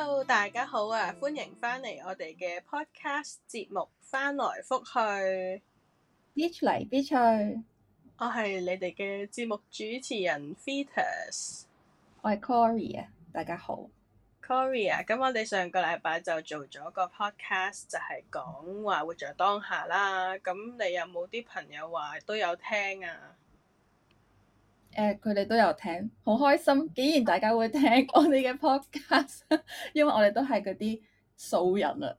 Hello，大家好啊！歡迎返嚟我哋嘅 podcast 節目，翻來覆去。 Beach 嚟 Beach 去， 我係你哋嘅節目主持人 Fetus， 我係 Cory 啊，大家好。 Cory 啊，咁我哋上個禮拜就做咗個 podcast，就係講話活在當下啦。咁你有冇啲朋友話都有聽啊？ 佢哋都有聽，好開心！竟然大家會聽我哋嘅 podcast，因為我哋都係嗰啲素人啊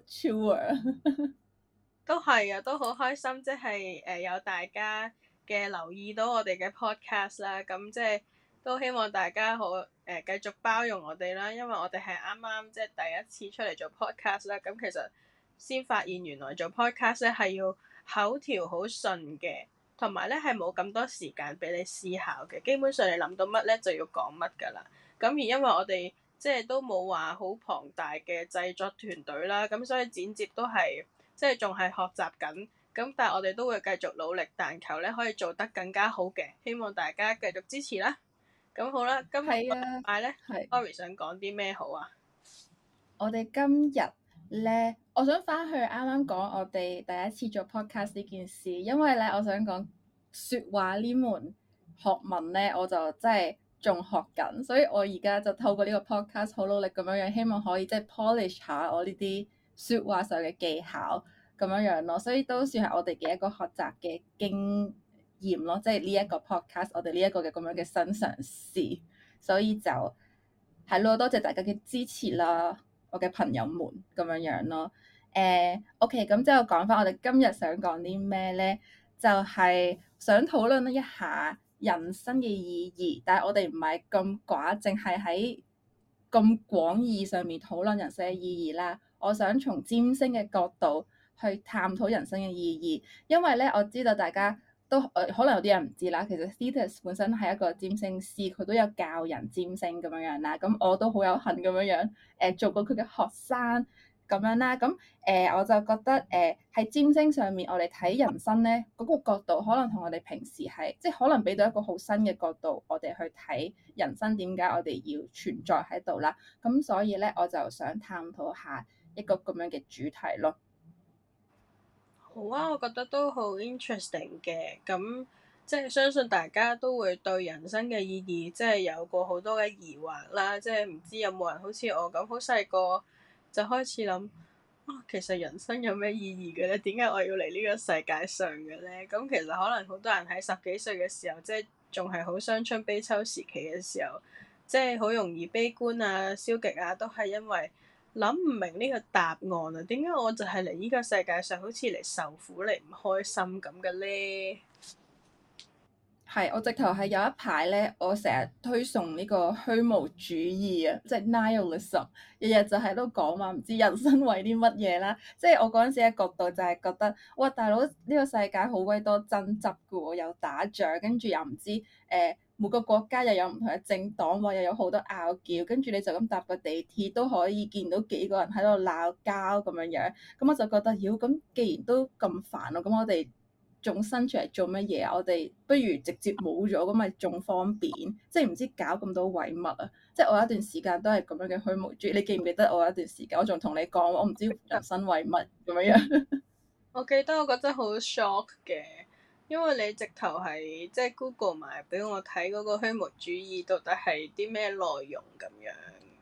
，amateur。 都係啊，都好開心，即係有大家嘅留意到我哋嘅 podcast 啦，咁即係都希望大家好繼續包容我哋啦，因為我哋係啱啱即係第一次出嚟做 podcast 啦，咁其實先發現原來做 podcast 咧係要口條好順嘅，同埋咧係冇咁多時間俾你思考嘅，基本上你諗到乜咧就要講乜㗎啦，咁而因為我哋即係都冇話好龐大嘅製作團隊啦，咁所以剪接都係。即係仲係學習緊，咁但係我哋都會繼續努力，但求咧可以做得更加好嘅，希望大家繼續支持啦。咁好啦，今日個禮拜咧，Cory 想講啲咩好啊？ 我哋今日咧，我想翻去啱啱講我哋第一次做 podcast 呢件事，因為咧，我想講説話呢門學問咧，我就真係仲學緊，所以我而家就透過呢個 podcast 好努力咁樣樣，希望可以即係 polish 下我呢啲説話上嘅技巧咁樣樣咯，所以都算係我哋嘅一個學習嘅經驗咯，即係呢一個 podcast 我哋呢一個嘅咁樣嘅新嘗試，所以就係咯，多謝大家嘅支持啦，我嘅朋友們咁樣樣咯。OK，咁之後講翻我哋今日想講啲咩咧，就係想討論一下人生嘅意義，但係我哋唔係咁寡，淨係喺咁廣義上面討論人生嘅意義啦。我想從占星嘅角度去探討人生嘅意義，因為咧我知道大家都可能有啲人唔知啦。其實 Thetis 本身係一個占星師，佢都有教人占星咁樣樣啦。咁我都好有幸咁樣樣做過佢嘅學生咁樣啦。咁我就覺得喺占星上面，我哋睇人生咧嗰個角度，可能同我哋平時係即係可能俾到一個好新嘅角度，我哋去睇人生點解我哋要存在喺度啦。咁所以咧，我就想探討下一個咁樣嘅主題咯。 好啊，我覺得都好 interesting 嘅，咁即係相信大家都會對人生嘅意義即係有過好多嘅疑惑啦，即係唔知有冇人好似我咁好細個就開始諗啊，其實人生有咩意義嘅咧？點解我要嚟呢個世界上嘅咧？咁其實可能好多人喺十幾歲嘅時候，即係仲係好傷春悲秋時期嘅時候，即係好容易悲觀啊、消極啊，都係因為諗唔明呢個答案啊！點解我就係嚟呢個世界上好似嚟受苦嚟唔開心咁嘅咧？ 係，我直頭係有一排咧，我成日推崇呢個虛無主義啊，即係 nihilism，日日就喺度講話唔知人生為啲乜嘢啦。即係我嗰陣時嘅角度就係覺得，哇大佬呢個世界好鬼多爭執㗎喎，又打仗，跟住又唔知每個國家又有唔同嘅政黨喎，又有好多拗撬，跟住你就咁搭個地鐵都可以見到幾個人喺度鬧交咁樣樣。咁我就覺得，妖咁既然都咁煩咯，咁我哋仲生出嚟做乜嘢啊？我哋不如直接冇咗，咁咪仲方便？即係唔知搞咁多遺物啊！即係我有一段時間都係咁樣嘅虛無主義。你記唔記得我有一段時間，我仲同你講，我唔知人生為乜咁樣樣。 我記得我覺得好 shock 嘅，因為你直頭係即係 Google 埋俾我睇嗰個虛無主義到底係啲咩內容咁樣。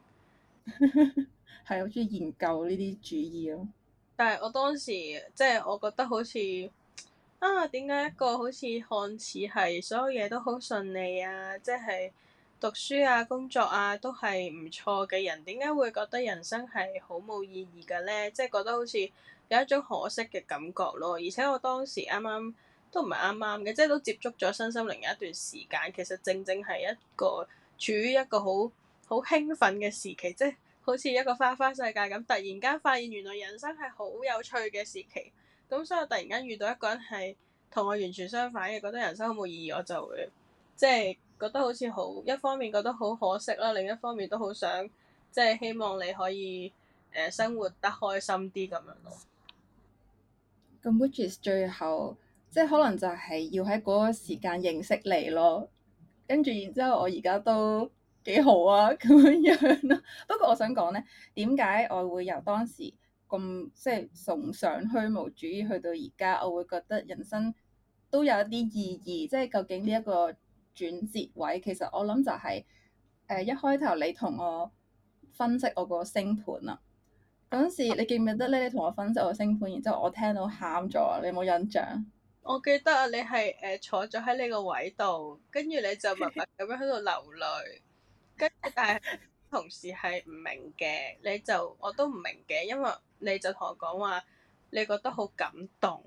係好中意研究呢啲主義咯。 但係我當時即係我覺得好似啊，點解一個好似看似係所有嘢都好順利啊，即係讀書啊、工作啊都係唔錯嘅人，點解會覺得人生係好冇意義嘅咧？即係覺得好似有一種可惜嘅感覺咯。而且我當時啱啱都唔係啱啱嘅，即係都接觸咗身心靈一段時間，其實正正係一個處於一個好興奮嘅時期，即係好似一個花花世界咁，突然間發現原來人生係好有趣嘅時期。咁所以我突然間遇到一個人係同我完全相反嘅，覺得人生好冇意義，我就會即係覺得好似好一方面覺得好可惜啦，另一方面都好想即係希望你可以生活得開心啲咁樣咯。 咁 which is 最後即係可能就係要喺嗰個時間認識你咯。跟住然之後，我而家都幾好啊咁樣樣咯。不過我想講咧，點解我會由當時咁即係崇尚虛無主義去到而家，我會覺得人生都有一啲意義。即係究竟呢一個轉折位，其實我諗就係、一開頭你同我分析我個星盤啊。嗰陣時你記唔記得咧？你同我分析我星盤，然之後我聽到喊咗，你有冇印象？ 我記得啊，你係坐咗喺你個位度，跟住你就默默咁樣喺度流淚，跟住但係同事係唔明嘅，我都唔明嘅，因為你就同我講話，你覺得好感動，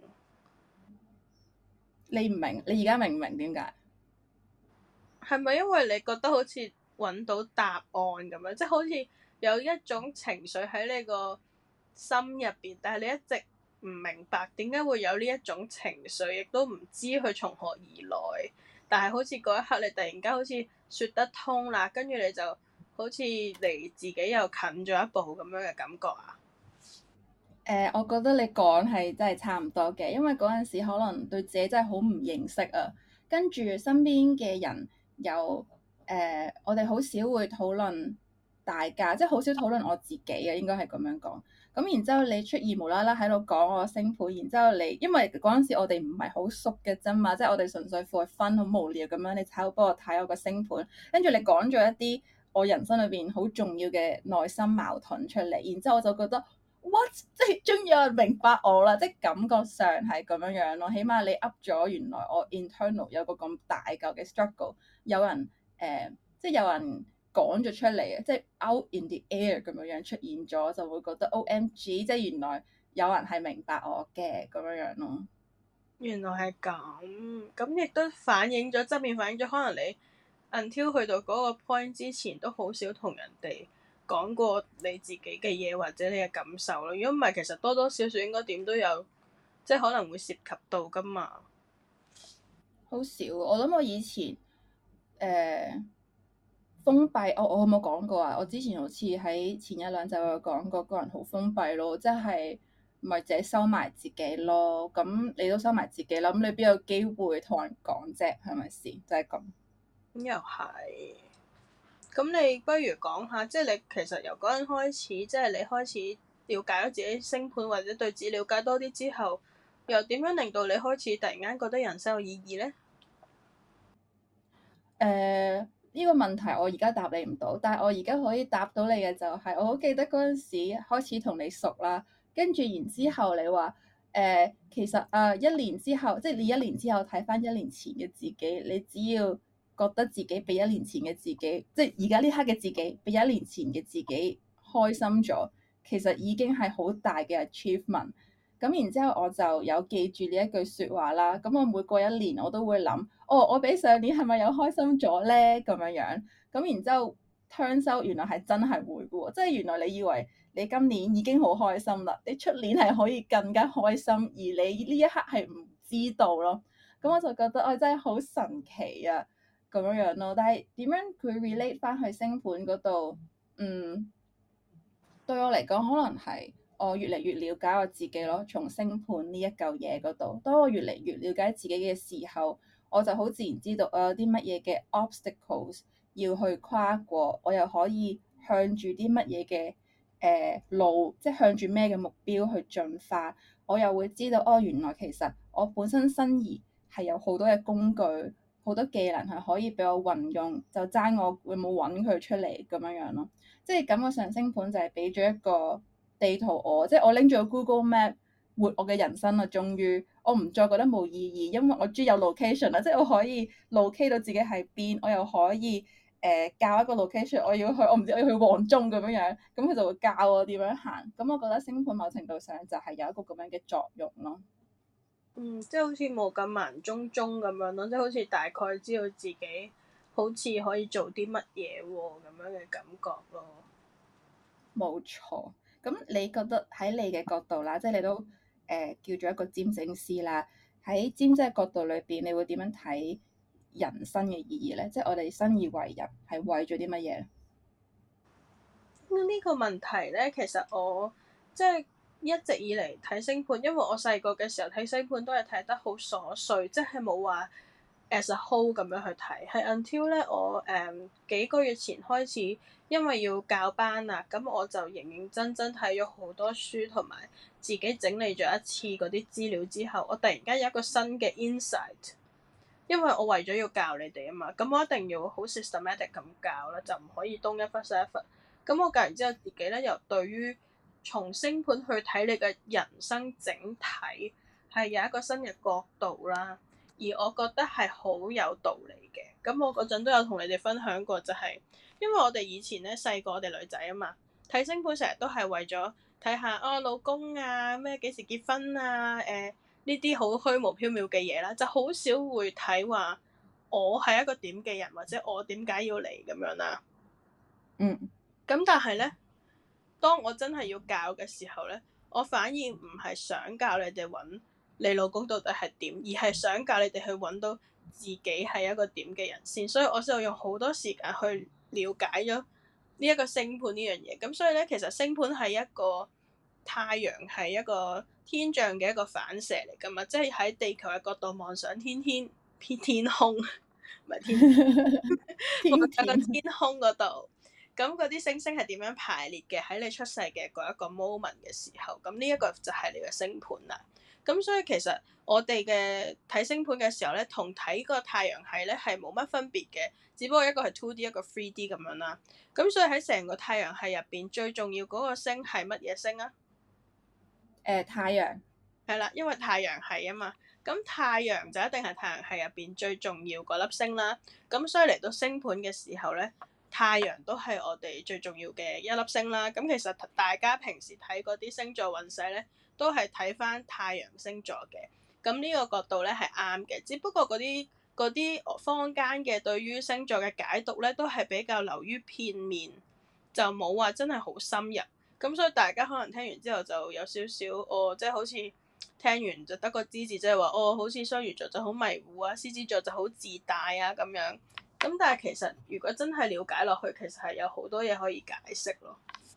你唔明，你而家明唔明點解？ 係咪因為你覺得好似揾到答案咁樣，即係好似有一種情緒喺你個心入邊，但係你一直唔明白點解會有呢一種情緒，亦都唔知佢從何而來。但係好似嗰一刻，你突然間好似説得通啦，跟住你就好似離自己又近咗一步咁樣嘅感覺啊！ 我覺得你講係真係差唔多嘅，因為嗰陣時可能對自己真係好唔認識啊，跟住身邊嘅人又我哋好少會討論大家，即係好少討論我自己嘅，應該係咁樣講。咁然之後你出現無啦啦喺度講我星盤，然之後你因為嗰陣時我哋唔係好熟嘅啫嘛，即係我哋純粹 for fun 好無聊咁樣，你喺度幫我睇我個星盤，跟住你講咗一啲我人生裏邊好重要嘅內心矛盾出嚟，然之後我就覺得。What？即係終於有人明白我啦，即係感覺上係咁樣樣咯。起碼你噏咗，原來我 internal 有個咁大嚿嘅 struggle，有人即係有人講咗出嚟嘅，即係 out in the air 咁樣樣出現咗，就會覺得 OMG，即係原來有人係明白我嘅咁樣樣咯。 原來係咁，咁亦都反映咗側面反映咗，可能你 until 去到嗰個 point 之前，都好少同人哋講過你自己嘅嘢或者你嘅感受咯。如果唔係，其實多多少少應該點都有，即係可能會涉及到噶嘛。 好少，我諗我以前封閉，我有冇講過啊？我之前好似喺前一兩集有講過，個人好封閉咯，即係咪自己收埋自己咯？咁你都收埋自己啦，咁你邊有機會同人講啫？係咪先？就係咁。 咁又係，咁你不如講下，即係你其實由嗰陣開始，即係你開始了解咗自己星盤或者對自己了解多啲之後，又點樣令到你開始突然間覺得人生有意義呢？ 呢個問題我而家答你唔到，但係我而家可以答到你嘅就係，我好記得嗰陣時開始同你熟啦，跟住然之後你話其實一年之後，即係你一年之後睇翻一年前嘅自己，你只要覺得自己比一年前嘅自己，即係而家呢刻嘅自己比一年前嘅自己開心咗，其實已經係好大嘅 achievement。咁然之後我就有記住呢一句説話啦。咁我每過一年我都會諗，哦，我比上年係咪有開心咗咧？咁樣樣。咁然之後 turns out 原來係真係會嘅喎，即係原來你以為你今年已經好開心啦，你出年係可以更加開心，而你呢一刻係唔知道咯。咁我就覺得哦，真係好神奇啊，咁樣樣咯。但係點樣佢 relate 翻去星盤嗰度？對我嚟講，可能係我越嚟越了解我自己咯。從星盤呢一嚿嘢嗰度，當我越嚟越了解自己嘅時候，我就好自然知道我有啲乜嘢嘅 obstacles 要去跨過，我又可以向住啲乜嘢嘅路，即係向住咩嘅目標去進化。我又會知道哦，原來其實我本身身而係有好多嘅工具，好多技能係可以俾我運用，就爭我會冇揾佢出嚟咁樣樣咯。即係感覺上星盤就係俾咗一個地圖我，即係我拎住個 Google Map 活我嘅人生啦。終於我唔再覺得冇意義，因為我終於有 location 啦，即係我可以 locate 到自己喺邊，我又可以教一個 location，我要去我唔知我要去黃中咁樣樣，咁佢就會教我點樣行。咁我覺得星盤某程度上就係有一個咁樣嘅作用咯。 即係好似冇咁盲中中咁樣咯，即係好似大概知道自己好似可以做啲乜嘢喎咁樣嘅感覺咯。 冇錯，咁你覺得喺你嘅角度啦，即係你都叫做一個占星師啦，喺占星嘅角度裏邊，你會點樣睇人生嘅意義咧？即係我哋生而為人係為咗啲乜嘢？ 呢個問題咧，其實我即係一直以嚟睇星盤，因為我細個嘅時候睇星盤都係睇得好瑣碎，即係冇話 as a whole 咁樣去睇，係 until 咧我幾個月前開始，因為要教班啊，咁我就認認真真睇咗好多書，同埋自己整理咗一次嗰啲資料之後，我突然間有一個新嘅 insight，因為我為咗要教你哋啊嘛，咁我一定要好 systematic 咁教啦，就唔可以東一忽西一忽。咁我教完之後，自己咧又對於從星盤去睇你嘅人生整體係有一個新嘅角度啦，而我覺得係好有道理嘅。咁我嗰陣都有同你哋分享過，就係因為我哋以前咧細個，我哋女仔啊嘛，睇星盤成日都係為咗睇下老公啊咩幾時結婚啊呢啲好虛無縹緲嘅嘢啦，就好少會睇話我係一個點嘅人，或者我點解要嚟咁樣啦。咁但係咧，當我真係要教嘅時候咧，我反而唔係想教你哋揾你老公到底係點，而係想教你哋去揾到自己係一個點嘅人先。所以我就用好多時間去了解咗呢一個星盤呢樣嘢。咁所以咧，其實星盤係一個太陽係一個天象嘅一個反射嚟㗎嘛，即係喺地球嘅角度望上天空，唔係天望上個天空嗰度。咁嗰啲星星係點樣排列嘅？喺你出世嘅嗰一個 moment 嘅時候，咁呢一個就係你嘅星盤啦。咁所以其實我哋嘅睇星盤嘅時候咧，同睇個太陽系咧係冇乜分別嘅，只不過一個係 2D 一個 3D 咁樣啦。咁所以喺成個太陽系入邊，最重要嗰個星係乜嘢星啊？ 太陽。 係啦，因為太陽系啊嘛，咁太陽就一定係太陽系入邊最重要嗰粒星啦。咁所以嚟到星盤嘅時候咧，太陽都係我哋最重要嘅一粒星啦。咁其實大家平時睇嗰啲星座運勢咧，都係睇翻太陽星座嘅。咁呢個角度咧係啱嘅，只不過嗰啲坊間嘅對於星座嘅解讀咧，都係比較流於片面，就冇話真係好深入。咁所以大家可能聽完之後就有少少即係好似聽完就得個知字，即係話好似雙魚座就好迷糊啊，獅子座就好自大啊咁樣。咁但係其實如果真係了解落去，其實係有好多嘢可以解釋咯。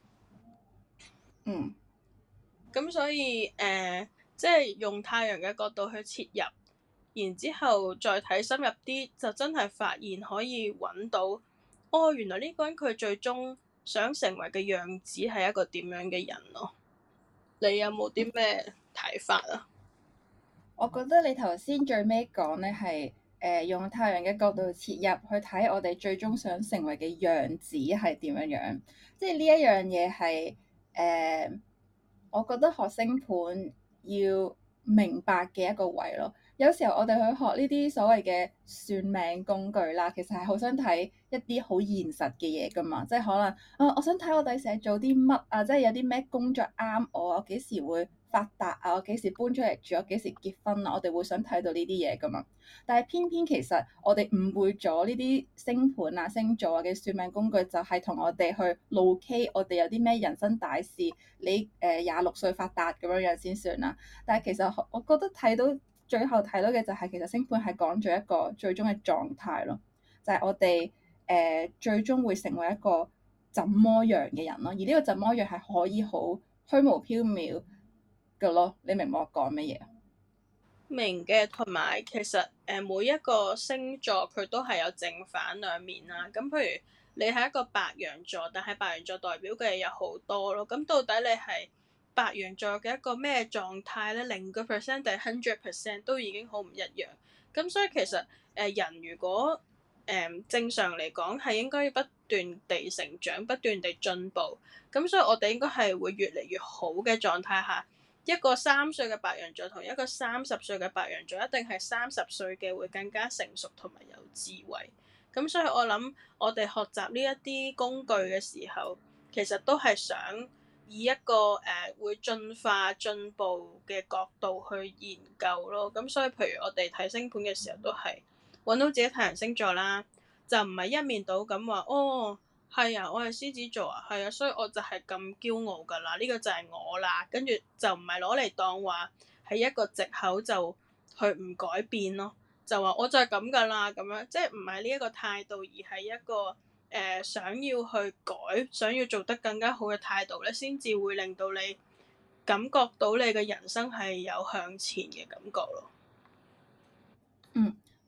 咁所以即係用太陽嘅角度去切入，然之後再睇深入啲，就真係發現可以揾到原來呢個人佢最終想成為嘅樣子係一個點樣嘅人咯。你有冇啲咩睇法啊？ 我覺得你頭先最尾講咧係用太陽嘅角度切入去睇我哋最終想成為嘅樣子係點樣樣，即係呢一樣嘢係我覺得學星盤要明白嘅一個位咯。有時候我哋去學呢啲所謂嘅算命工具啦，其實係好想睇一啲好現實嘅嘢噶嘛，即係可能我想睇我第時做啲乜啊，即係有啲咩工作啱我幾時會發達啊，我幾時搬出嚟住，我幾時結婚啊，我哋會想睇到呢啲嘢噶嘛。但係偏偏其實我哋誤會咗呢啲星盤啊、星座啊嘅算命工具，就係同我哋去 locate 我哋有啲咩人生大事，你26歲發達咁樣樣先算啦。但係其實我覺得最後睇到嘅就係其實星盤係講咗一個最終嘅狀態咯，就係我哋最終會成為一個怎麼樣嘅人咯。而呢個怎麼樣係可以好虛無縹緲嘅咯。你明唔明我講乜嘢？ 明嘅，同埋其實每一個星座佢都係有正反兩面啦。咁譬如你係一個白羊座，但係白羊座代表嘅嘢有好多咯。咁到底你係白羊座嘅一個咩狀態咧？0% 定係100% 都已經好唔一樣。咁所以其實人如果正常嚟講係應該要不斷地成長，不斷地進步。咁所以我哋應該係會越嚟越好嘅狀態下。一個3歲嘅白羊座同一個30歲嘅白羊座，一定係30歲嘅會更加成熟同埋有智慧。咁所以我諗，我哋學習呢一啲工具嘅時候，其實都係想以一個會進化進步嘅角度去研究咯。咁所以譬如我哋睇星盤嘅時候，都係揾到自己太陽星座啦，就唔係一面倒咁話係啊，我係獅子座啊，係啊，所以我就係咁驕傲噶啦，呢個就係我啦，跟住就唔係攞嚟當話係一個藉口就去唔改變咯，就話我就係咁噶啦咁樣，即係唔係呢一個態度，而係一個想要去改，想要做得更加好嘅態度咧，先至會令到你感覺到你嘅人生係有向前嘅感覺咯。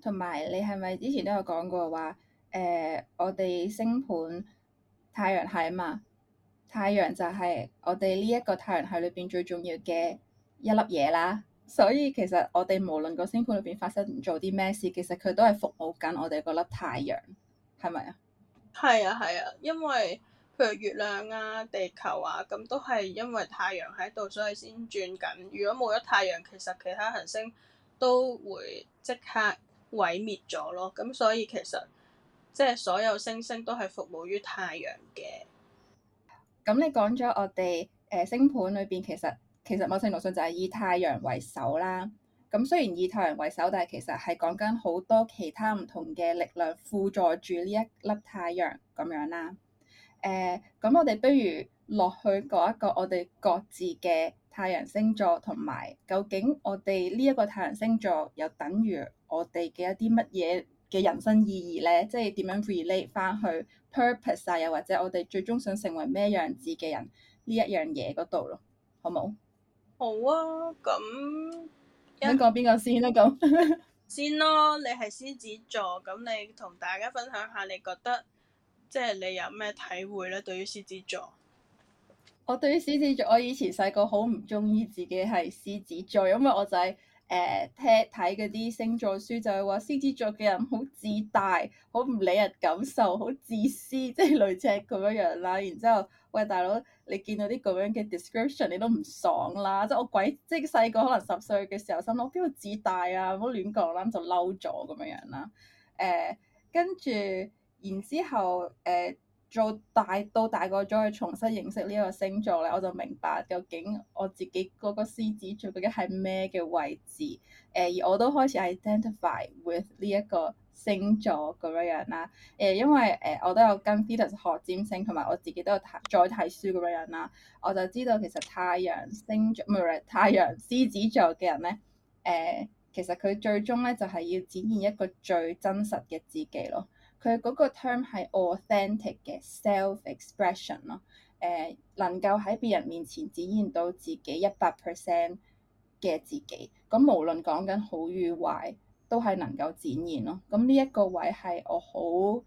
同埋你係咪之前都有講過話我哋星盤太陽系啊嘛，太陽就係我哋呢一個太陽系裏邊最重要嘅一粒嘢啦。所以其實我哋無論個星盤裏邊發生做啲咩事，其實佢都係服務緊我哋嗰粒太陽，係咪啊？ 係啊係啊，因為譬如月亮啊、地球啊，咁都係因為太陽喺度，所以先轉緊。如果冇咗太陽，其實其他行星都會即刻毀滅咗咯。咁所以其實即係所有星星都係服務於太陽嘅。 咁你講咗我哋星盤裏邊其實某程度上就係以太陽為首啦。咁雖然以太陽為首，但係其實係講緊好多其他唔同嘅力量輔助住呢一粒太陽咁樣啦。咁我哋不如落去講一個我哋各自嘅太陽星座，同埋究竟我哋呢一個太陽星座又等於我哋嘅一啲乜嘢嘅人生意義咧？即係點樣 relate 翻去 purpose 啊，又或者我哋最終想成為咩樣子嘅人呢一樣嘢嗰度咯，好冇？ 好啊，咁想講邊個先啦？咁先咯，你係獅子座，咁你同大家分享下，你覺得即係你有咩體會咧？對於獅子座， 我對於獅子座，我以前細個好唔中意自己係獅子座，因為我就係睇嗰啲星座書，就係話獅子座嘅人好自大，好唔理人感受，好自私，即係類似係咁樣樣啦。然之後，喂大佬，你見到啲咁樣嘅 description，你都唔爽啦！即係我即係細個可能10歲嘅時候，心諗邊度自大啊，唔好亂講啦，咁就嬲咗咁樣樣啦。跟住然之後做到大個咗去重新認識呢一個星座咧，我就明白究竟我自己嗰個獅子座究竟係咩嘅位置。而我都開始 identify with 呢一個星座咁樣樣啦。因為我都有跟 Thetis 學占星，同埋我自己都有再睇書咁樣樣啦。我就知道其實太陽星座唔係太陽獅子座嘅人咧，其實佢最終咧就係要展現一個最真實嘅自己咯。佢嗰個 term 係 authentic 嘅 self-expression 咯，能夠喺別人面前展現到自己100%嘅自己，咁無論講緊好與壞，都係能夠展現咯。咁呢一個位係我好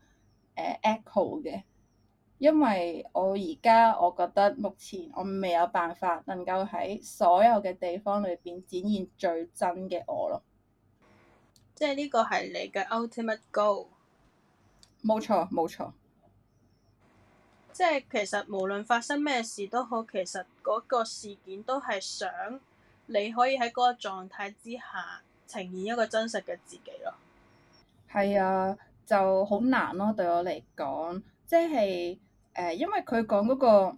echo 嘅，因為我而家我覺得目前我未有辦法能夠喺所有嘅地方裏邊展現最真嘅我咯。 即係呢個係你嘅 ultimate goal。 冇錯，冇錯。 即係其實無論發生咩事都好，其實嗰個事件都係想你可以喺嗰個狀態之下呈現一個真實嘅自己咯。 係啊，就好難咯，對我嚟講，即係因為佢講嗰個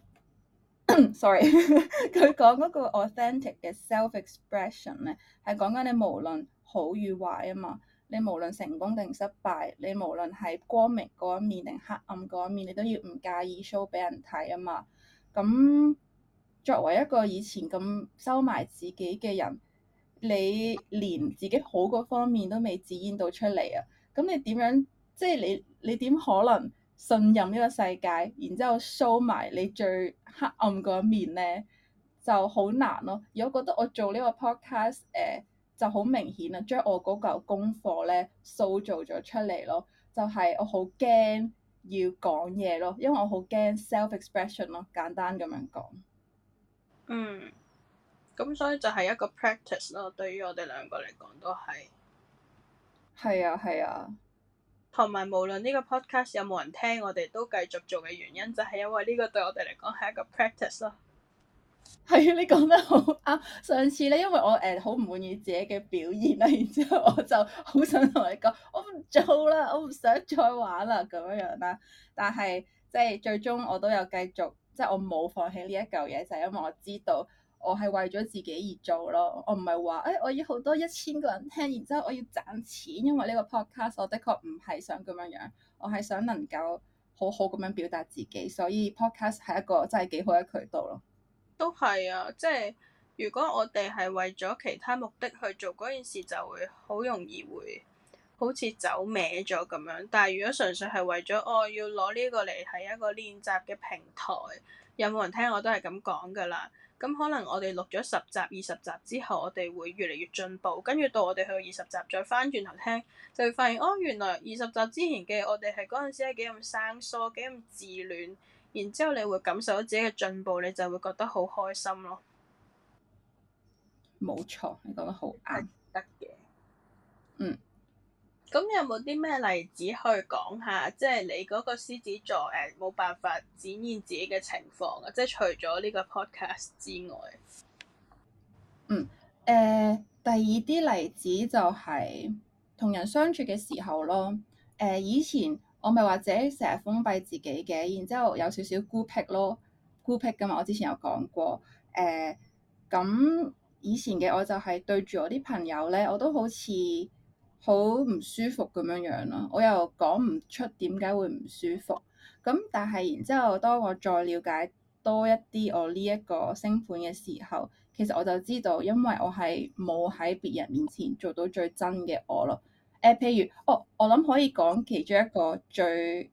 ，sorry，佢講嗰個 authentic 嘅 self-expression 咧，係講緊你無論好與壞啊嘛。你無論成功定失敗，你無論係光明嗰一面定黑暗嗰一面，你都要唔介意 show 俾人睇啊嘛。咁作為一個以前咁收埋自己嘅人，你連自己好嗰方面都未展現到出嚟啊！咁你點樣？即係你點可能信任呢個世界，然之後 show 埋你最黑暗嗰一面咧，就好難咯。而我覺得我做呢個 podcast 就好明顯啦，將我嗰嚿功課咧塑造咗出嚟咯。就係我好驚要講嘢咯，因為我好驚 self-expression 咯。簡單咁樣講。 嗯，咁所以就係一個 practice 咯，對於我哋兩個嚟講都係。 係啊，係啊。 同埋無論呢個 podcast 有冇人聽，我哋都繼續做嘅原因，就係因為呢個對我哋嚟講係一個 practice 咯。 係啊，你講得好啱。上次咧，因為我好唔滿意自己嘅表現啦，然之後我就好想同你講，我唔做啦，我唔想再玩啦咁樣樣啦。但係即係最終我都有繼續，即係我冇放棄呢一嚿嘢，就係因為我知道我係為咗自己而做咯。我唔係話我要好多1000個人聽，然之後我要賺錢，因為呢個 podcast 我的確唔係想咁樣樣，我係想能夠好好咁樣表達自己，所以 podcast 係一個真係幾好嘅渠道咯。 都係啊，即係如果我哋係為咗其他目的去做嗰件事，就會好容易會好似走歪咗咁樣。但係如果純粹係為咗我要攞呢個嚟係一個練習嘅平台，有冇人聽我都係咁講噶啦。 咁可能我哋錄咗10集、20集之後，我哋會越嚟越進步，跟住到我哋去到20集再翻轉頭聽，就會發現哦，原來20集之前嘅我哋係嗰陣時係幾咁生疏、幾咁自戀，然之後你會感受到自己嘅進步，你就會覺得好開心咯。 冇錯，你講得好啱。 得嘅。 嗯。 咁有冇啲咩例子去講下，即係你嗰個獅子座冇辦法展現自己嘅情況啊？即係除咗呢個 podcast 之外， 第二啲例子就係同人相處嘅時候咯。以前我咪話自己成日封閉自己嘅，然之後有少少孤僻咯，孤僻㗎嘛。我之前有講過。咁以前嘅我就係對住我啲朋友咧，我都好似好唔舒服咁樣樣咯。我又講唔出點解會唔舒服。咁但係然之後，當我再了解多一啲我呢一個星盤嘅時候，其實我就知道，因為我係冇喺別人面前做到最真嘅我咯。譬如，我諗可以講其中一個最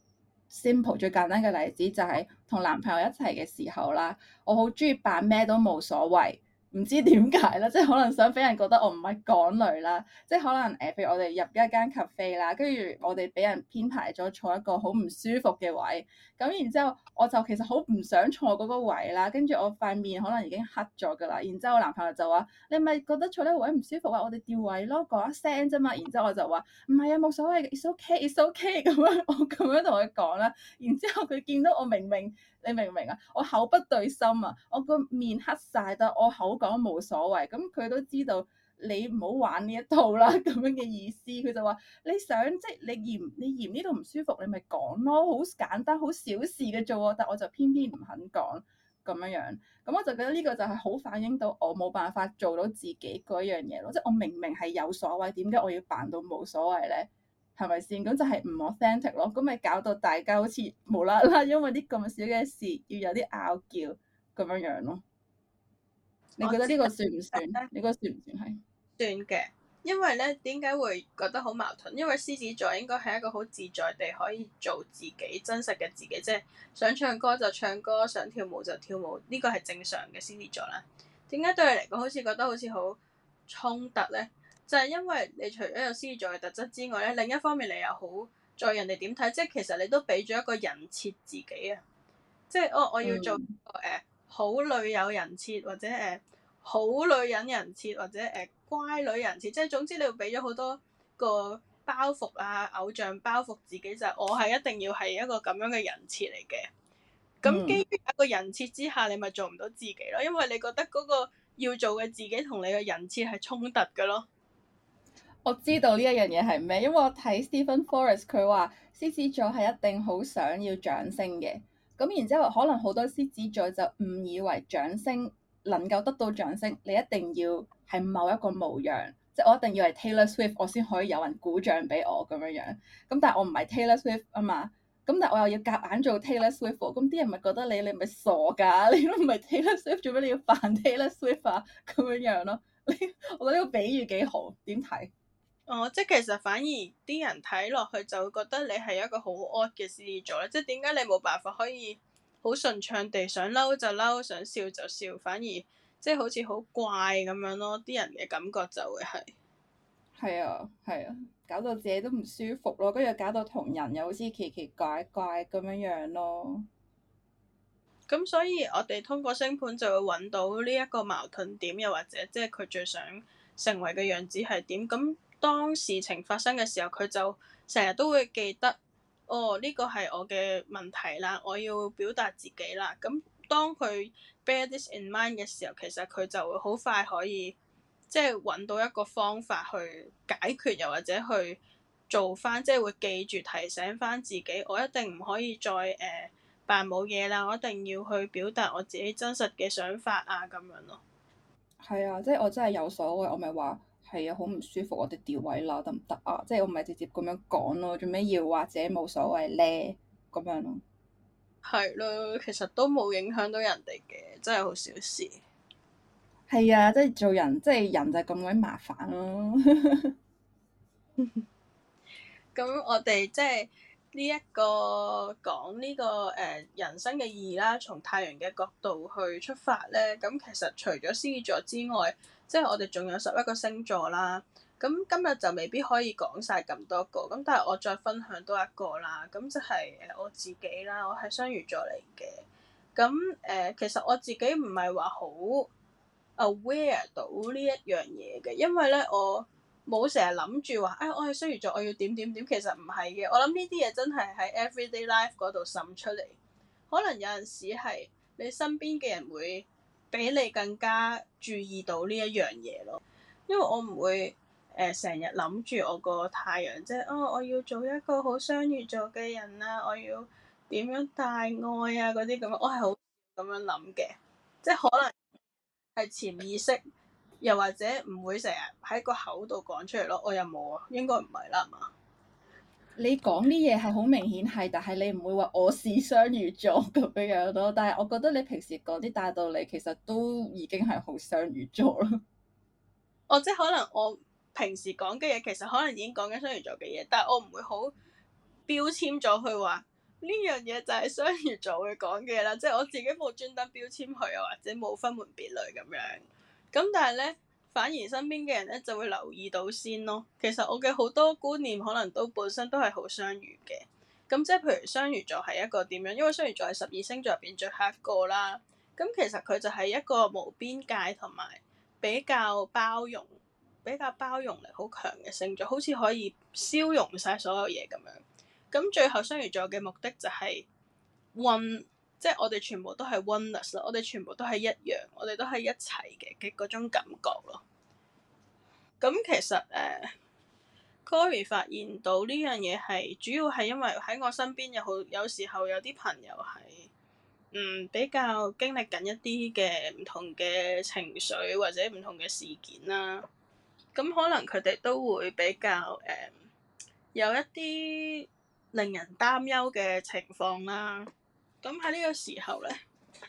simple 最簡單嘅例子，就係同男朋友一齊嘅時候啦，我好中意扮咩都冇所謂。唔知點解啦，即係可能想俾人覺得我唔係港女啦，即係可能譬如我哋入一間 cafe 啦，跟住我哋俾人編排咗坐一個好唔舒服嘅位，咁然之後我就其實好唔想坐嗰個位啦，跟住我塊面可能已經黑咗噶啦，然之後我男朋友就話：你咪覺得坐呢個位唔舒服啊？我哋調位咯，講一聲啫嘛。然之後我就話：唔係啊，冇所謂嘅，it's okay，it's okay 咁樣，我咁樣同佢講啦。然之後佢見到我明明。你明唔明啊？我口不對心啊！我個面黑晒，但我口講冇所謂。咁佢都知道你唔好玩呢一套啦，咁樣嘅意思。佢就話：你想即係你嫌呢度唔舒服，你咪講咯，好簡單，好小事嘅啫喎。但我就偏偏唔肯講咁樣樣。咁我就覺得呢個就係好反映到我冇辦法做到自己嗰樣嘢咯。即係我明明係有所謂，點解我要扮到冇所謂咧？係咪先？咁就係唔 authentic 咯，咁咪搞到大家好似無啦啦，因為啲咁少嘅事要有啲拗撬咁樣樣咯。你覺得呢個算唔算？你覺得算唔算係？ 算嘅，因為咧點解會覺得好矛盾？因為獅子座應該係一個好自在地可以做自己真實嘅自己，即係想唱歌就唱歌，想跳舞就跳舞，呢個係正常嘅獅子座啦。點解對你嚟講好似覺得好似好衝突咧？就係因為你除咗有獅子座嘅特質之外咧，另一方面你又好在人哋點睇，即係其實你都俾咗一個人設自己啊，即係我要做好女友人設，或者好女人人設，或者乖女人設，即係總之你會俾咗好多個包袱啊，偶像包袱自己就係我係一定要係一個咁樣嘅人設嚟嘅。咁基於一個人設之下，你咪做唔到自己咯，因為你覺得嗰個要做嘅自己同你嘅人設係衝突嘅咯。 我知道呢一樣嘢係咩，因為我睇 Stephen Forrest 佢話獅子座係一定好想要掌聲嘅，咁然之後可能好多獅子座就誤以為掌聲能夠得到掌聲，你一定要係某一個模樣，即係我一定要係 Taylor Swift 我先可以有人鼓掌俾我咁樣樣。咁但係我唔係 Taylor Swift 啊嘛，咁但係我又要夾硬做 Taylor Swift，咁啲人咪覺得你咪傻㗎，你都唔係 Taylor Swift，做咩你要扮 Taylor Swift 啊？咁樣樣咯，我覺得呢個比喻幾好，點睇？ 哦，即係其實反而啲人睇落去就會覺得你係一個好 odd 嘅獅子座咧，即係點解你冇辦法可以好順暢地想嬲就嬲，想笑就笑，反而即係好似好怪咁樣咯，啲人嘅感覺就會係。 係啊，係啊，搞到自己都唔舒服咯，跟住搞到同人又好似奇奇怪怪咁樣樣咯。 咁所以我哋通過星盤就會揾到呢一個矛盾點，又或者即係佢最想成為嘅樣子係點。咁當事情發生嘅時候，佢就成日都會記得，哦，呢個係我嘅問題啦，我要表達自己啦。咁當佢 bear this in mind 嘅時候，其實佢就會好快可以即係揾到一個方法去解決，又或者去做翻，即係會記住提醒翻自己，我一定唔可以再扮冇嘢啦，我一定要去表達我自己真實嘅想法啊，咁樣咯。 係啊，即係我真係有所謂，我咪話係啊，好唔舒服，我哋調位啦，得唔得啊？即係我唔係直接咁樣講咯，做咩要或者冇所謂咧？咁樣咯。 係咯，其實都冇影響到人哋嘅，真係好小事。 係啊，即係做人，即係人就係咁鬼麻煩咯。 咁我哋即係呢一個講呢個人生嘅意義啦，從太陽嘅角度去出發咧，咁其實除咗獅子座之外，即係我哋仲有11個星座啦。咁今日就未必可以講晒咁多個，咁但係我再分享多一個啦。咁就係我自己啦，我係雙魚座嚟嘅。咁其實我自己唔係話好 aware 到呢一樣嘢嘅，因為咧我冇成日諗住話，我係雙魚座，我要點點點。其實唔係嘅，我諗呢啲嘢真係喺 everyday life 嗰度滲出嚟。可能有陣時係你身邊嘅人會比你更加注意到呢一樣嘢咯。因為我唔會成日諗住我個太陽，即係我要做一個好雙魚座嘅人啊，我要點樣大愛啊嗰啲咁樣，我係好咁樣諗嘅，即係可能係潛意識，又或者唔會成日喺個口度講出嚟咯。我又冇啊，應該唔係啦，係嘛？ 你講啲嘢係好明顯係，但係你唔會話我是雙魚座咁樣樣咯。但係我覺得你平時講啲大道理，其實都已經係好雙魚座咯。 即係可能我平時講嘅嘢，其實可能已經講緊雙魚座嘅嘢，但係我唔會好標籤咗佢話呢樣嘢就係雙魚座會講嘅啦。即係我自己冇專登標籤佢啊，或者冇分門別類咁樣。咁但係咧，反而身邊嘅人咧就會留意到先咯。其實我嘅好多觀念可能都本身都係好雙魚嘅。咁即係譬如雙魚座係一個點樣？因為雙魚座係12星座入邊最後一個啦。咁其實佢就係一個無邊界同埋比較包容力好強嘅星座，好似可以消融晒所有嘢咁樣。咁最後雙魚座嘅目的就係 one，即係我哋全部都係 oneness 咯，我哋全部都係一樣，我哋都係一齊嘅嗰種感覺咯。咁其實Cory 發現到呢樣嘢係主要係因為喺我身邊有時候有啲朋友係比較經歷緊一啲嘅唔同嘅情緒或者唔同嘅事件啦。咁可能佢哋都會比較有一啲令人擔憂嘅情況啦。咁喺呢個時候咧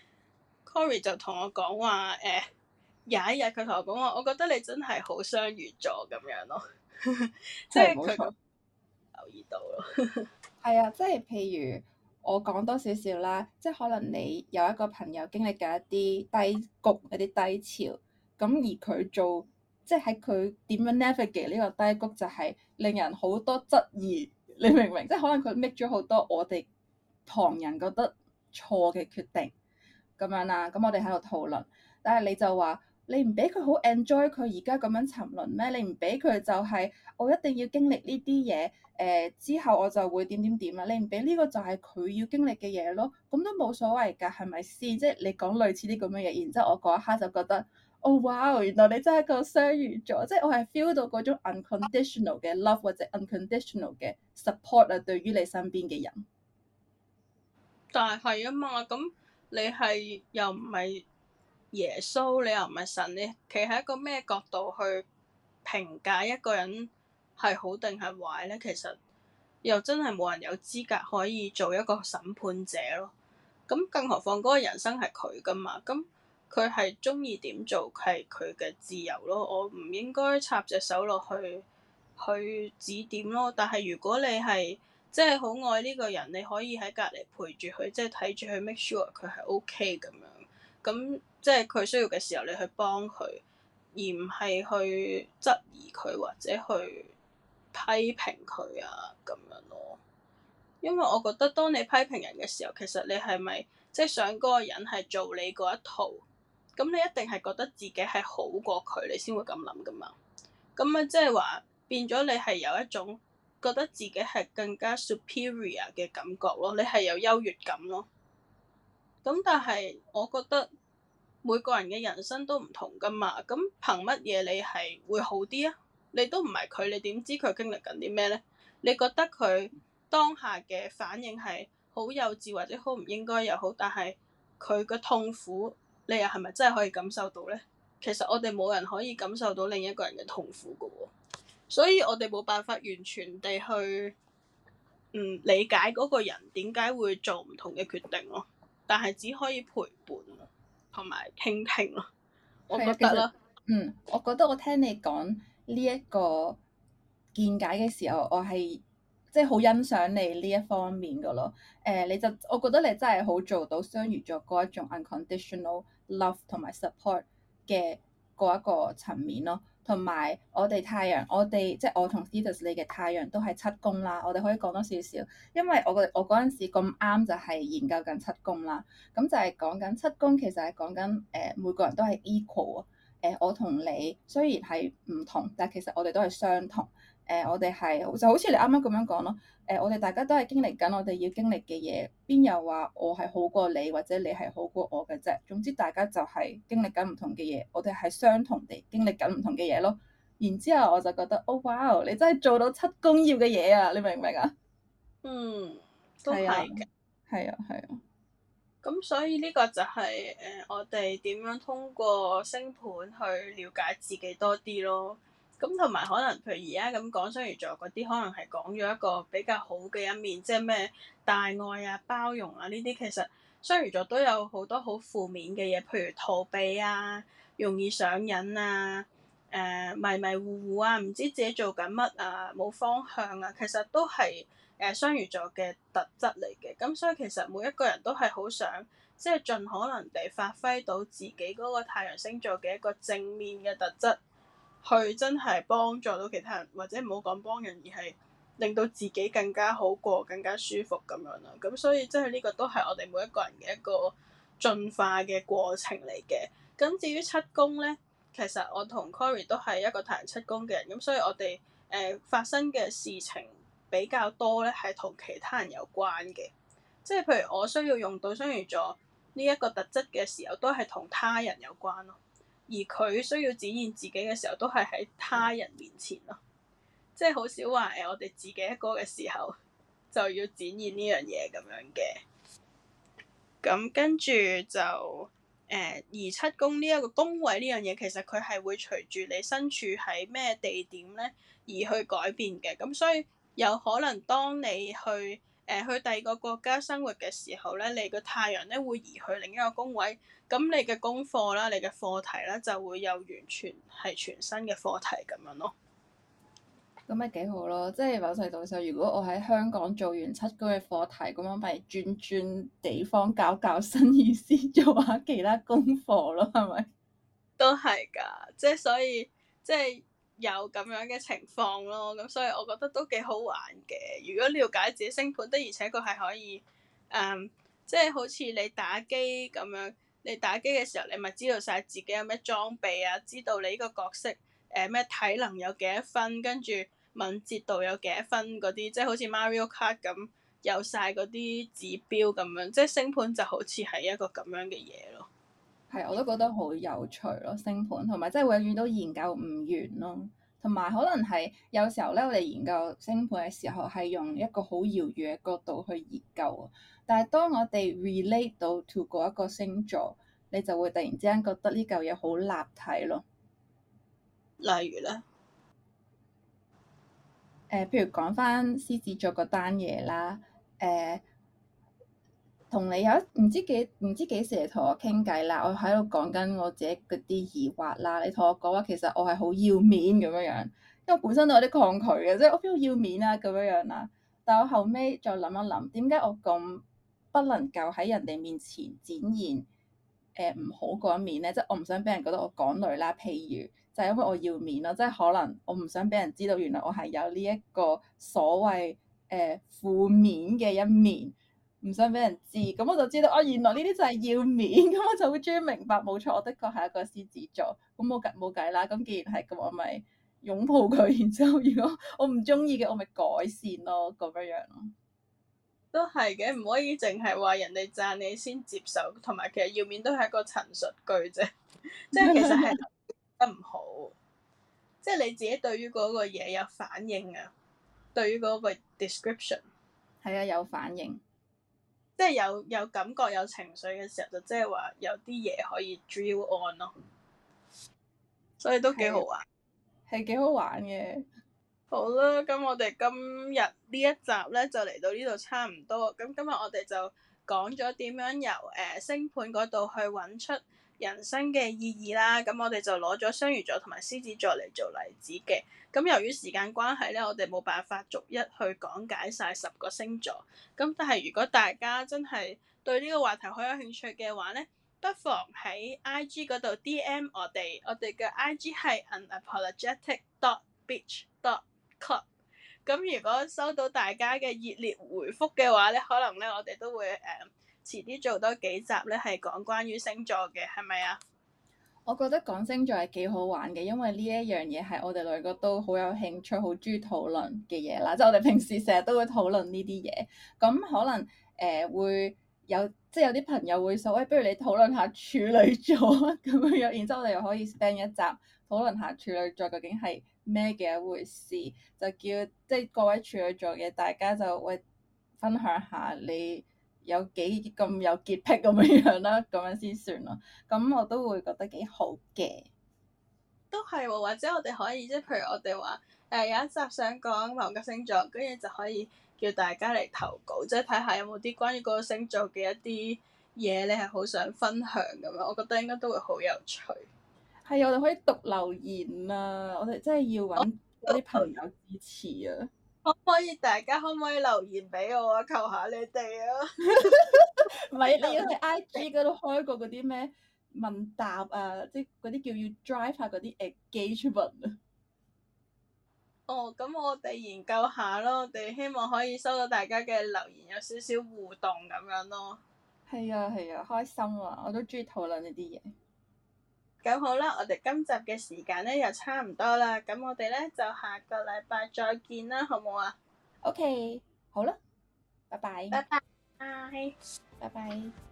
，Cory 就同我講話有一日佢同我講話，我覺得你真係好雙魚座咁樣咯，即係佢留意到咯。 係啊，即係譬如我講多少少啦，即係可能你有一個朋友經歷緊一啲低谷、一啲低潮，咁而佢做即係喺佢點樣 navigate 呢個低谷，就係令人好多質疑，你明唔明？即係可能佢 make 咗好多我哋旁人覺得錯嘅決定咁樣啦。咁我哋喺度討論，但係你就話你唔俾佢好 enjoy 佢而家咁樣沉淪咩？你唔俾佢就係我一定要經歷呢啲嘢。之後我就會點點點啦，你唔俾呢個就係佢要經歷嘅嘢咯，咁都冇所謂㗎，係咪先？即係你講類似啲咁嘅嘢，然之後我嗰一刻就覺得，哦哇，原來你真係個雙魚座，即係我係 feel 到嗰種 unconditional 嘅 love 或者 unconditional 嘅 support 啊，對於你身邊嘅人。 但係啊嘛，咁你係又唔係耶穌，你又唔係神，你企喺一個咩角度去評價一個人係好定係壞咧？其實又真係冇人有資格可以做一個審判者咯。咁更何況嗰個人生係佢噶嘛，咁佢係中意點做係佢嘅自由咯。我唔應該插隻手落去指點咯。但係如果你係即係好愛呢個人，你可以喺隔離陪住佢，即係睇住佢 make sure 佢係 OK 咁樣。咁即係佢需要嘅時候，你去幫佢，而唔係去質疑佢或者去批評佢啊咁樣咯。因為我覺得當你批評人嘅時候，其實你係咪即係想嗰個人係做你嗰一套？咁你一定係覺得自己係好過佢，你先會咁諗噶嘛？咁啊，即係話變咗你係有一種覺得自己係更加 superior 嘅感覺咯，你係有優越感咯。咁但係我覺得每個人嘅人生都唔同噶嘛，咁憑乜嘢你係會好啲啊？你都唔係佢，你點知佢經歷緊啲咩咧？你覺得佢當下嘅反應係好幼稚或者好唔應該又好，但係佢嘅痛苦，你又係咪真係可以感受到咧？其實我哋冇人可以感受到另一個人嘅痛苦噶喎，所以我哋冇辦法完全地去理解嗰個人點解會做唔同嘅決定咯，但係只可以陪伴同埋傾聽咯，我覺得啦。 我覺得我聽你講呢一個見解嘅時候，我係即即係好欣賞你呢一方面噶咯。我覺得你真係好做到雙魚座嗰一種 unconditional love 同埋 support 嘅嗰一個層面咯。同埋我哋太陽，即係我同 Thetis 你嘅太陽都係七宮啦。我哋可以講多少少，因為我嗰陣時咁啱就係研究緊七宮啦。咁就係講緊七宮，其實係講緊每個人都係 equal 啊。我同你雖然係唔同，但係其實我哋都係相同。我哋係就好似你啱啱咁樣講咯。我哋大家都係經歷緊我哋要經歷嘅嘢，邊有話我係好過你或者你係好過我嘅啫？總之大家就係經歷緊唔同嘅嘢，我哋係相同地經歷緊唔同嘅嘢咯。然之後我就覺得，哦，哇！你真係做到七宮要嘅嘢啊！你明唔明啊？ 都係嘅。 係啊，係啊。 咁所以呢個就係我哋點樣通過星盤去了解自己多啲咯。咁同埋可能譬如而家咁講雙魚座嗰啲，可能係講咗一個比較好嘅一面，即係咩大愛啊、包容啊呢啲。其實雙魚座都有好多好負面嘅嘢，譬如逃避啊、容易上癮啊、迷迷糊糊啊、唔知自己做緊乜啊、冇方向啊，其實都係雙魚座嘅特質嚟嘅。咁所以其實每一個人都係好想即係盡可能地發揮到自己嗰個太陽星座嘅一個正面嘅特質，去真係幫助到其他人，或者唔好講幫人，而係令到自己更加好過、更加舒服咁樣啦。咁所以即係呢個都係我哋每一個人嘅一個進化嘅過程嚟嘅。咁至於七宮咧，其實我同 Cory 都係一個太陽七宮嘅人，咁所以我哋發生嘅事情比較多咧，係同其他人有關嘅。即係譬如我需要用到雙魚座呢一個特質嘅時候，都係同他人有關咯。而佢需要展現自己嘅時候，都係喺他人面前咯。即係好少話我哋自己一個嘅時候就要展現呢樣嘢咁樣嘅。咁跟住就而七宮呢一個宮位呢樣嘢，其實佢係會隨住你身處喺咩地點咧而去改變嘅。咁所以有可能當你去去第二個國家生活嘅時候咧，你個太陽咧會移去另一個宮位，咁你嘅功課啦、你嘅課題啦就會有完全係全新嘅課題咁樣咯。 咁咪幾好咯，即係某程度上，如果我喺香港做完七宮嘅課題，咁我咪轉地方搞新意思，做下其他功課咯，係咪？ 都係㗎，即係所以即係有咁樣嘅情況咯。咁所以我覺得都幾好玩嘅。如果了解自己星盤，的而且確係可以即係好似你打機咁樣，你打機嘅時候，你咪知道晒自己有咩裝備啊，知道你呢個角色咩體能有幾多分，跟住敏捷度有幾多分嗰啲，即係好似 Mario Kart 咁有晒嗰啲指標咁樣，即係星盤就好似係一個咁樣嘅嘢咯。 係，我都覺得好有趣咯，星盤同埋即係永遠都研究唔完咯。同埋可能係有時候咧，我哋研究星盤嘅時候係用一個好遙遠嘅角度去研究啊。但係當我哋 relate 到 to 嗰一個星座，你就會突然之間覺得呢嚿嘢好立體咯。 例如咧， 譬如講翻獅子座嗰單嘢啦，同你有唔知幾時嚟同我傾偈啦，我喺度講緊我自己嗰啲疑惑啦，你同我講話其實我係好要面咁樣樣，因為我本身都有啲抗拒嘅，即係我邊度要面啊咁樣樣啦。但我後尾再諗一諗，點解我咁不能夠喺人哋面前展現唔好嗰一面咧？即係我唔想俾人覺得我港女啦。譬如就係因為我要面咯，即係可能我唔想俾人知道原來我係有呢一個所謂負面嘅一面。唔想俾人知，咁我就知道哦，原來呢啲就係要面，咁我就會終於明白，冇錯，我的確係一個獅子座，咁冇計啦。咁既然係咁，我咪擁抱佢，然之後如果我唔中意嘅，我咪改善咯，咁樣樣咯。 都係嘅，唔可以淨係話人哋讚你先接受，同埋其實要面都係一個陳述句啫，即係其實係得唔好，即係你自己對於嗰個嘢有反應啊，對於嗰個 description 係啊，有反應。 即係有感覺有情緒嘅時候，就即係話有啲嘢可以 drill on 咯，所以都幾好玩， 係幾好玩嘅。 好啦，咁我哋今日呢一集咧就嚟到呢度差唔多。咁今日我哋就講咗點樣由星盤嗰度去揾出人生嘅意義啦。咁我哋就攞咗雙魚座同埋獅子座嚟做例子嘅。咁由於時間關係咧，我哋冇辦法逐一去講解晒10個星座。咁但係如果大家真係對呢個話題好有興趣嘅話咧，不妨喺 IG 嗰度 DM 我哋嘅 IG 係 unapologetic.beach.club。咁如果收到大家嘅熱烈回覆嘅話咧，可能咧我哋都會遲啲做多幾集咧，係講關於星座嘅，係咪啊？ 我覺得講星座係幾好玩嘅，因為呢一樣嘢係我哋兩個都好有興趣、好中意討論嘅嘢啦。即係我哋平時成日都會討論呢啲嘢，咁可能會有即係有啲朋友會話，喂，不如你討論下處女座咁樣，然之後我哋又可以 spend 一集討論下處女座究竟係咩嘅一回事，就叫即係各位處女座嘅大家就喂分享下你有幾咁有潔癖咁樣樣啦，咁樣先算咯。咁我都會覺得幾好嘅。 都係喎，或者我哋可以即係譬如我哋話有一集想講某個星座，跟住就可以叫大家嚟投稿，即係睇下有冇啲關於嗰個星座嘅一啲嘢，你係好想分享咁樣，我覺得應該都會好有趣。 係啊，我哋可以讀留言啊！我哋真係要揾嗰啲朋友支持啊！ 大家可唔可以留言俾我啊？求下你哋啊！ 唔係你要喺 IG 嗰度開個嗰啲咩問答啊，即係嗰啲叫要 drive 下嗰啲 engagement 啊！ 哦，咁我哋研究下咯，我哋希望可以收到大家嘅留言，有少少互動咁樣咯。 係啊係啊，開心啊！我都中意討論呢啲嘢。 咁好啦，我哋今集嘅時間咧又差唔多啦，咁我哋咧就下個禮拜再見啦，好唔好啊？ OK，好啦，拜拜， 拜拜。 拜拜。